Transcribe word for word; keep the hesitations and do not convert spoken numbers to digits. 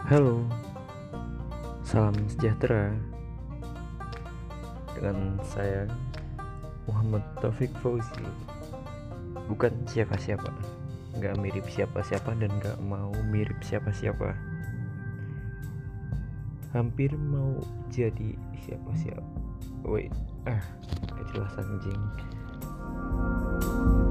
Halo, salam sejahtera. Dengan saya Muhammad Taufik Fauzi. Bukan siapa-siapa, nggak mirip siapa-siapa dan nggak mau mirip siapa-siapa. Hampir mau jadi siapa-siapa. Wait, ah, gak jelas anjing.